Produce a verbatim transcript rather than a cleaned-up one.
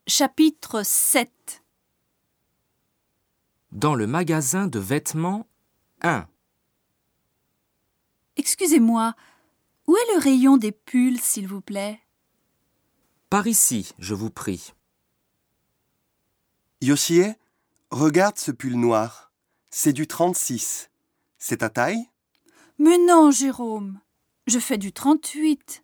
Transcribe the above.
Chapitre sept. Dans le magasin de vêtements un. Excusez-moi, où est le rayon des pulls, s'il vous plaît? Par ici, je vous prie. Yoshie, regarde ce pull noir. C'est du trente-six. C'est ta taille? Mais non, Jérôme, je fais du trente-huit.